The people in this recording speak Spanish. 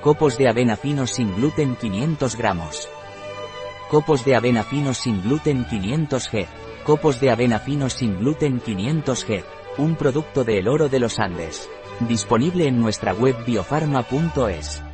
Copos de avena fino sin gluten 500 gramos. Copos de avena fino sin gluten 500 g. Copos de avena fino sin gluten 500 g. Un producto de El Oro de los Andes. Disponible en nuestra web biofarma.es.